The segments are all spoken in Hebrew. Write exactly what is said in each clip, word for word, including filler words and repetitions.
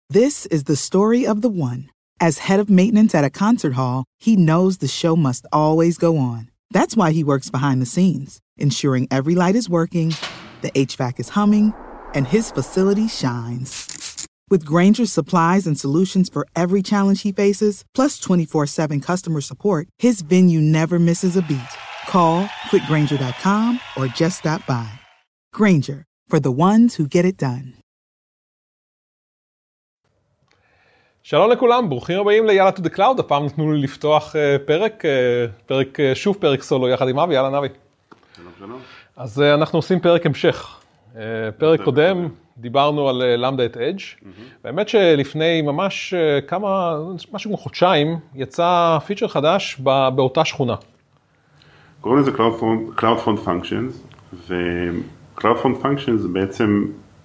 This is the story of the one. As head of maintenance at a concert hall, he knows the show must always go on. That's why he works behind the scenes, ensuring every light is working, the H V A C is humming, and his facility shines. With Grainger's supplies and solutions for every challenge he faces, plus twenty-four seven customer support, his venue never misses a beat. Call quick grainger dot com or just stop by. Grainger, for the ones who get it done. שלום לכולם, ברוכים הבאים ליאללה to the cloud. הפעם נתנו לי לפתוח פרק, פרק, שוב פרק סולו יחד עם אבי. יאללה נבי. שלום שלום. אז אנחנו עושים פרק המשך. פרק קודם דיברנו על למדה את אדג'. באמת שלפני ממש כמה, משהו כמו חודשיים, יצא פיצ'ר חדש באותה שכונה. קוראים לזה CloudFront Functions, ו-CloudFront Functions זה בעצם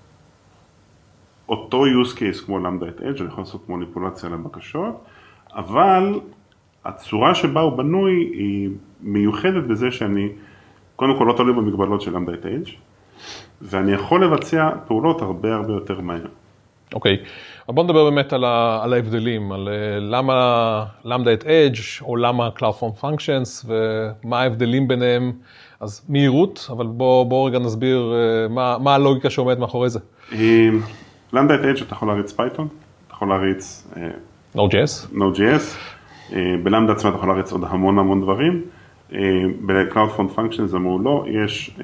אותו use case כמו למדה את אדג', אני יכול לעשות מניפולציה לבקשות, אבל הצורה שבה הוא בנוי היא מיוחדת בזה שאני קודם כל לא תלוי במגבלות של למדה את אדג', ואני יכול לבצע פעולות הרבה הרבה יותר מהר. אוקיי, בוא נדבר באמת על, ה, על ההבדלים, על למה למדה את אדג' או למה CloudFront Functions ומה ההבדלים ביניהם. אז מהירות, אבל בוא, בוא רגע נסביר מה, מה הלוגיקה שעומדת מאחורי זה. למדה את אדג' אתה יכול להריץ פייתון, אתה יכול להריץ Node.js. Node.js, בלמדה עצמה אתה יכול להריץ עוד המון המון דברים. ב-CloudFront Functions אמרו לא, יש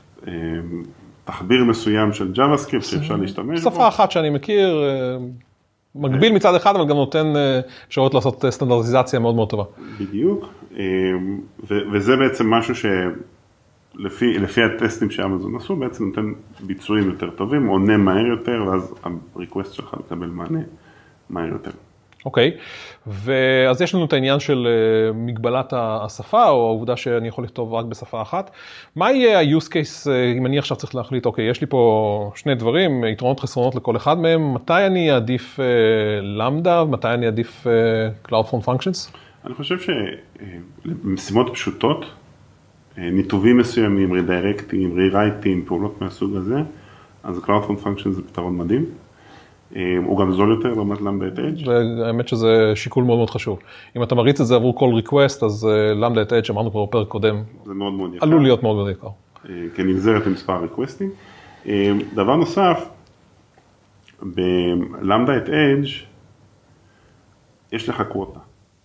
תחביר מסוים של JavaScript שאפשר להשתמש בו. שפה אחת שאני מכיר, מגביל מצד אחד, אבל גם נותן אפשרות לעשות סטנדרטיזציה מאוד מאוד טובה. בדיוק, וזה בעצם משהו שלפי הטסטים שאמזון עשו, בעצם נותן ביצועים יותר טובים, עונה מהר יותר, ואז הריקווסט שלך מקבל מענה מהר יותר. אוקיי, ואז יש לנו את העניין של מגבלת השפה, או העובדה שאני יכול לכתוב רק בשפה אחת. מה יהיה ה-use case, אם אני עכשיו צריך להחליט, אוקיי, יש לי פה שני דברים, יתרונות חסרונות לכל אחד מהם, מתי אני אעדיף למדה, מתי אני אעדיף CloudFront Functions? אני חושב שמשימות פשוטות, ניתובים מסוימים, רדירקטים, רירייטים, פעולות מהסוג הזה, אז CloudFront Functions זה פתרון מדהים. הוא גם זול יותר לעומת למדה את אדג'. האמת שזה שיקול מאוד מאוד חשוב. אם אתה מריץ את זה עבור כל ריקווסט, אז למדה את אדג' אמרנו כבר בפרק קודם. זה מאוד מאוד יקר. עלול להיות מאוד מאוד יקר. כנגזרת עם מספר ריקווסטים. דבר נוסף, בלמדה את אדג' יש לך קווטה.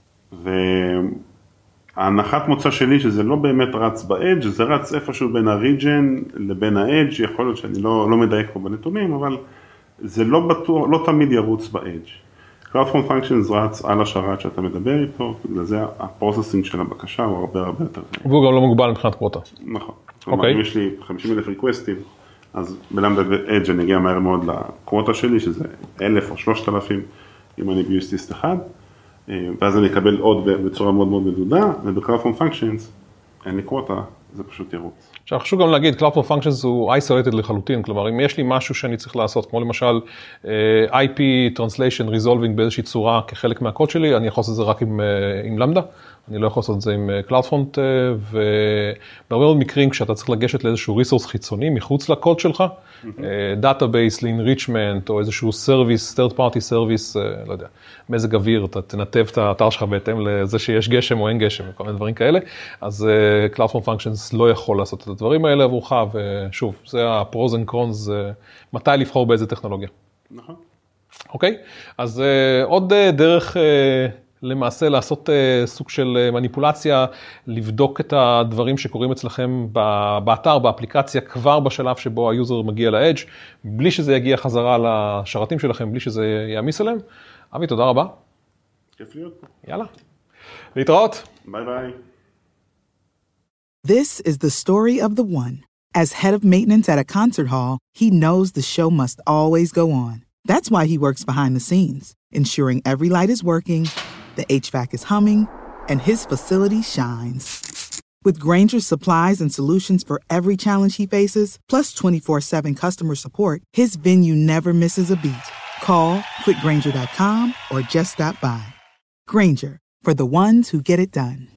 וההנחת מוצא שלי שזה לא באמת רץ באדג', זה רץ איפשהו בין הריג'ן לבין האדג', יכול להיות שאני לא, לא מדייק פה בנתונים, אבל זה לא בטוח, לא תמיד ירוץ באדג'. CloudFront Functions רץ על השרת שאתה מדבר איתו, בגלל זה הפרוססינג של הבקשה הוא הרבה הרבה יותר. והוא גם לא מוגבל מבחינת קווטה. נכון. כלומר, אם יש לי חמישים אלף ריקווסטים, אז בלמדה אדג' אני אגיע מהר מאוד לקווטה שלי, שזה אלף או שלושת אלפים, אם אני ביוסטיסט אחד, ואז אני אקבל עוד בצורה מאוד מאוד מדודה, וב-CloudFront Functions אין לי קווטה, זה פשוט ירוץ. עכשיו, חשוב גם להגיד, CloudFront Functions הוא isolated לחלוטין, כלומר, אם יש לי משהו שאני צריך לעשות, כמו למשל איי פי Translation Resolving באיזושהי צורה כחלק מהקוד שלי, אני יכול לעשות את זה רק עם, עם למדה, אני לא יכול לעשות את זה עם CloudFront, ובהרבה מאוד מקרים, כשאתה צריך לגשת לאיזשהו ריסורס חיצוני, מחוץ לקוד שלך, דאטאבייס ל-enrichment, או איזשהו service, third party service, לא יודע, מזג אוויר, אתה תנתב את האתר שלך בהתאם לזה שיש גשם או אין גשם, וכל מיני דברים כאלה, אז CloudFront Functions לא יכול לעשות את הדברים האלה עבורך, ושוב, זה ה-pros and cons, מתי לבחור באיזה טכנולוגיה. נכון. אוקיי? אז עוד דרך למעשה לעשות סוג של מניפולציה, לבדוק את הדברים שקורים אצלכם באתר, באפליקציה, כבר בשלב שבו היוזר מגיע לאדג', בלי שזה יגיע חזרה לשרתים שלכם, בלי שזה יעמיס עליהם. אבי, תודה רבה. כיף להיות פה. יאללה. להתראות. ביי ביי. This is the story of the one. As head of maintenance at a concert hall, he knows the show must always go on. That's why he works behind the scenes, ensuring every light is working, the H V A C is humming, and his facility shines. With Grainger's supplies and solutions for every challenge he faces, plus twenty-four seven customer support, his venue never misses a beat. Call quick grainger dot com or just stop by. Grainger, for the ones who get it done.